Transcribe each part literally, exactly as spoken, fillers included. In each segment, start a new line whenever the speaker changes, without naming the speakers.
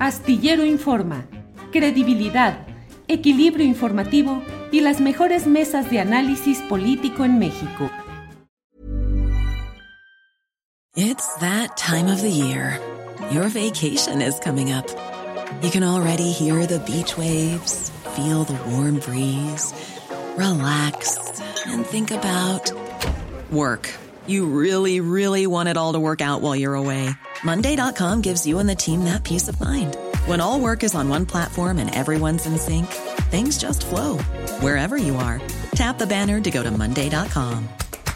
Astillero Informa, credibilidad, equilibrio informativo y las mejores mesas de análisis político en México.
It's that time of the year. Your vacation is coming up. You can already hear the beach waves, feel the warm breeze, relax, and think about work. You really, really want it all to work out while you're away. Monday dot com gives you and the team that peace of mind. When all work is on one platform and everyone's in sync, things just flow. Wherever you are, tap the banner to go to Monday dot com.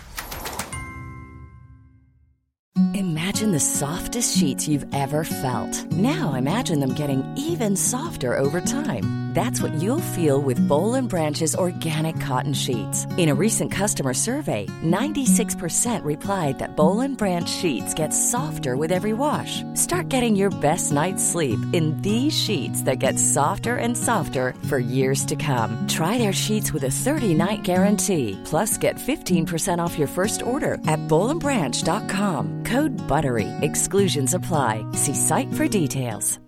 Imagine the softest sheets you've ever felt. Now imagine them getting even softer over time. That's what you'll feel with Boll and Branch's organic cotton sheets. In a recent customer survey, ninety-six percent replied that Boll and Branch sheets get softer with every wash. Start getting your best night's sleep in these sheets that get softer and softer for years to come. Try their sheets with a thirty-night guarantee. Plus, get fifteen percent off your first order at boll and branch dot com. Code BUTTERY. Exclusions apply. See site for details.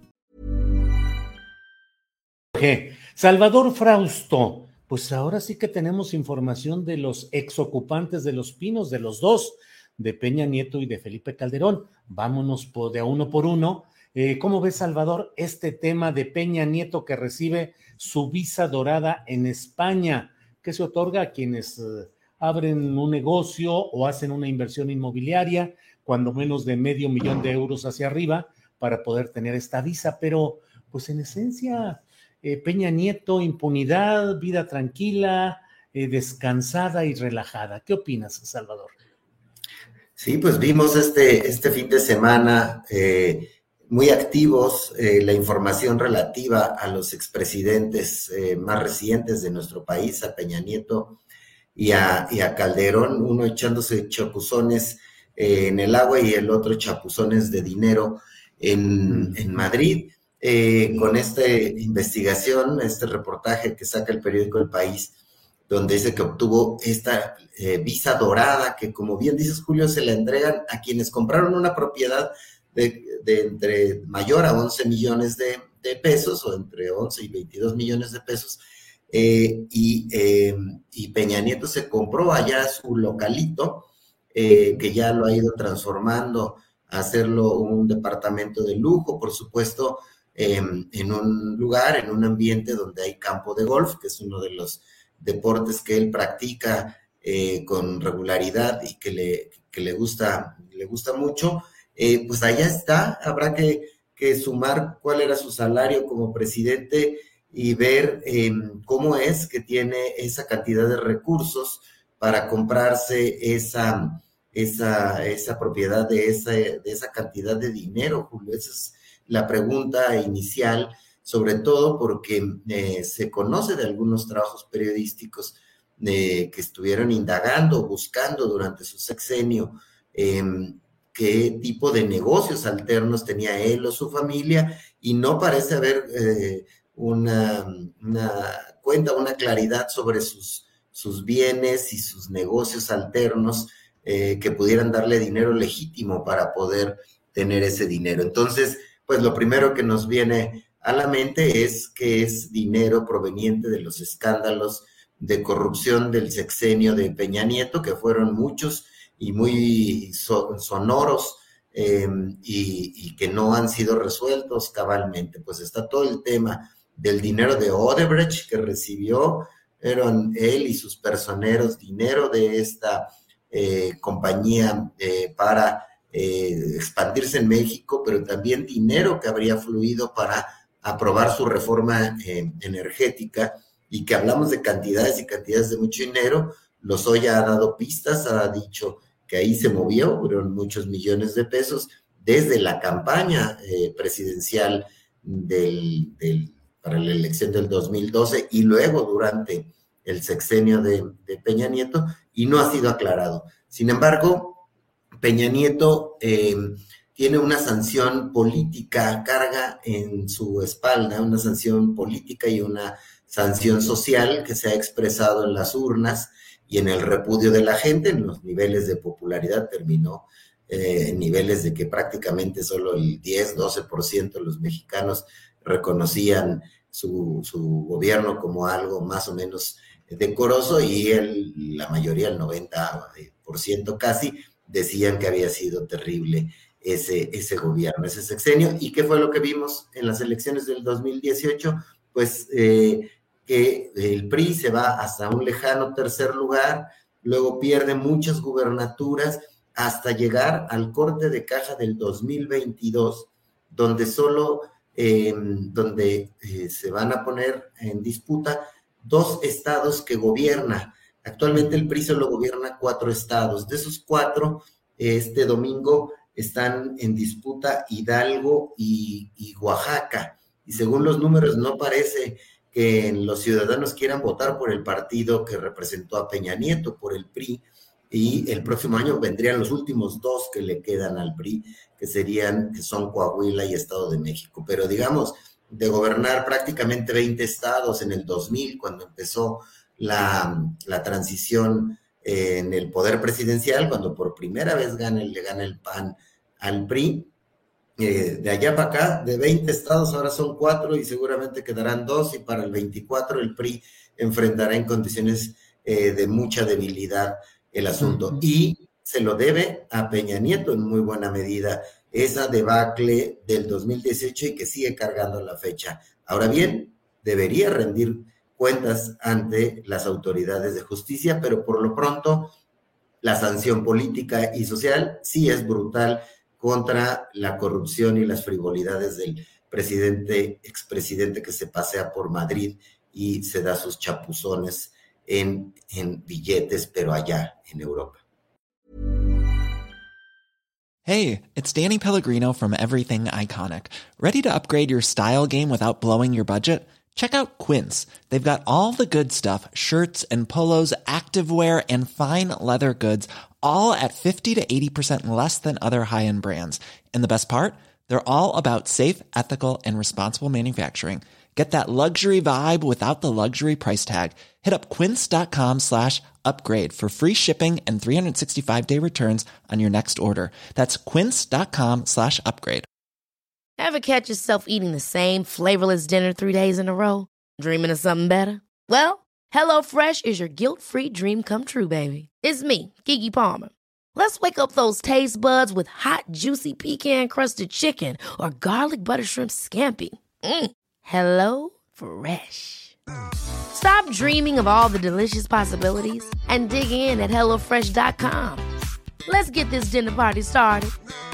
Salvador Frausto, pues ahora sí que tenemos información de los exocupantes de Los Pinos, de los dos, de Peña Nieto y de Felipe Calderón. Vámonos por, de a uno por uno. Eh, ¿Cómo ves, Salvador, este tema de Peña Nieto que recibe su visa dorada en España, que se otorga a quienes eh, abren un negocio o hacen una inversión inmobiliaria, cuando menos de medio millón de euros hacia arriba, para poder tener esta visa? Pero, pues en esencia, eh, Peña Nieto, impunidad, vida tranquila, eh, descansada y relajada. ¿Qué opinas, Salvador?
Sí, pues vimos este, este fin de semana eh, muy activos eh, la información relativa a los expresidentes eh, más recientes de nuestro país, a Peña Nieto y a, y a Calderón, uno echándose chapuzones eh, en el agua y el otro chapuzones de dinero en, en Madrid. Eh, con esta investigación, este reportaje que saca el periódico El País, donde dice que obtuvo esta eh, visa dorada, que como bien dices, Julio, se la entregan a quienes compraron una propiedad de, de entre mayor a once millones de, de pesos, o entre once y veintidós millones de pesos, eh, y, eh, y Peña Nieto se compró allá su localito, eh, que ya lo ha ido transformando a hacerlo un departamento de lujo, por supuesto, eh, en un lugar, en un ambiente donde hay campo de golf, que es uno de los deportes que él practica eh, con regularidad y que le, que le gusta, le gusta mucho. Eh, pues allá está, habrá que, que sumar cuál era su salario como presidente y ver eh, cómo es que tiene esa cantidad de recursos para comprarse esa, esa, esa propiedad de esa, de esa cantidad de dinero, Julio. Esa es la pregunta inicial, sobre todo porque eh, se conoce de algunos trabajos periodísticos eh, que estuvieron indagando, buscando durante su sexenio eh, qué tipo de negocios alternos tenía él o su familia, y no parece haber eh, una, una cuenta, una claridad sobre sus, sus bienes y sus negocios alternos eh, que pudieran darle dinero legítimo para poder tener ese dinero. Entonces, pues lo primero que nos viene a la mente es que es dinero proveniente de los escándalos de corrupción del sexenio de Peña Nieto, que fueron muchos y muy so, sonoros eh, y, y que no han sido resueltos cabalmente. Pues está todo el tema del dinero de Odebrecht que recibió, eran él y sus personeros dinero de esta eh, compañía eh, para eh, expandirse en México, pero también dinero que habría fluido para aprobar su reforma eh, energética, y que hablamos de cantidades y cantidades de mucho dinero. Lozoya ha dado pistas, ha dicho que ahí se movió, fueron muchos millones de pesos desde la campaña eh, presidencial del, del, para la elección del dos mil doce y luego durante el sexenio de, de Peña Nieto, y no ha sido aclarado. Sin embargo, Peña Nieto eh, tiene una sanción política, carga en su espalda, una sanción política y una sanción social que se ha expresado en las urnas y en el repudio de la gente. En los niveles de popularidad terminó eh, en niveles de que prácticamente solo el diez, doce por ciento de los mexicanos reconocían su, su gobierno como algo más o menos decoroso, y el, la mayoría, el noventa por ciento casi, decían que había sido terrible ese, ese gobierno, ese sexenio. ¿Y qué fue lo que vimos en las elecciones del dos mil dieciocho? Pues eh, que el P R I se va hasta un lejano tercer lugar, luego pierde muchas gubernaturas hasta llegar al corte de caja del dos mil veintidós, donde solo eh, donde eh, se van a poner en disputa dos estados que gobierna. Actualmente el P R I solo gobierna cuatro estados. De esos cuatro, este domingo están en disputa Hidalgo y, y Oaxaca. Y según los números, no parece que los ciudadanos quieran votar por el partido que representó a Peña Nieto, por el P R I, y el próximo año vendrían los últimos dos que le quedan al P R I, que serían, que son Coahuila y Estado de México. Pero digamos, de gobernar prácticamente veinte estados en el dos mil, cuando empezó la, la transición eh, en el poder presidencial, cuando por primera vez gana, le gana el P A N al P R I, eh, de allá para acá, de veinte estados ahora son cuatro y seguramente quedarán dos, y para el veinticuatro el P R I enfrentará en condiciones eh, de mucha debilidad el asunto. Uh-huh. Y se lo debe a Peña Nieto en muy buena medida esa debacle del dos mil dieciocho y que sigue cargando la fecha. Ahora bien, debería rendir cuentas ante las autoridades de justicia, pero por lo pronto la sanción política y social sí es brutal contra la corrupción y las frivolidades del presidente, expresidente que se pasea por Madrid y se da sus chapuzones en, en billetes, pero allá en Europa.
Hey, it's Danny Pellegrino from Everything Iconic. Ready to upgrade your style game without blowing your budget? Check out Quince. They've got all the good stuff, shirts and polos, activewear, and fine leather goods, all at fifty to eighty percent less than other high-end brands. And the best part? They're all about safe, ethical, and responsible manufacturing. Get that luxury vibe without the luxury price tag. Hit up quince.com slash upgrade for free shipping and three sixty-five day returns on your next order. That's quince.com slash upgrade.
Ever catch yourself eating the same flavorless dinner three days in a row? Dreaming of something better? Well, HelloFresh is your guilt-free dream come true, baby. It's me, Keke Palmer. Let's wake up those taste buds with hot, juicy pecan-crusted chicken or garlic butter shrimp scampi. Mm. Hello Fresh. Stop dreaming of all the delicious possibilities and dig in at hello fresh dot com. Let's get this dinner party started.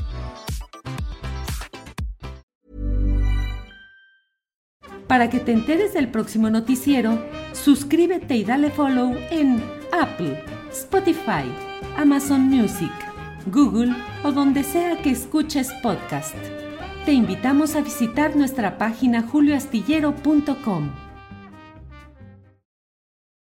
Para que te enteres del próximo noticiero, suscríbete y dale follow en Apple, Spotify, Amazon Music, Google o donde sea que escuches podcast. Te invitamos a visitar nuestra página julio astillero punto com.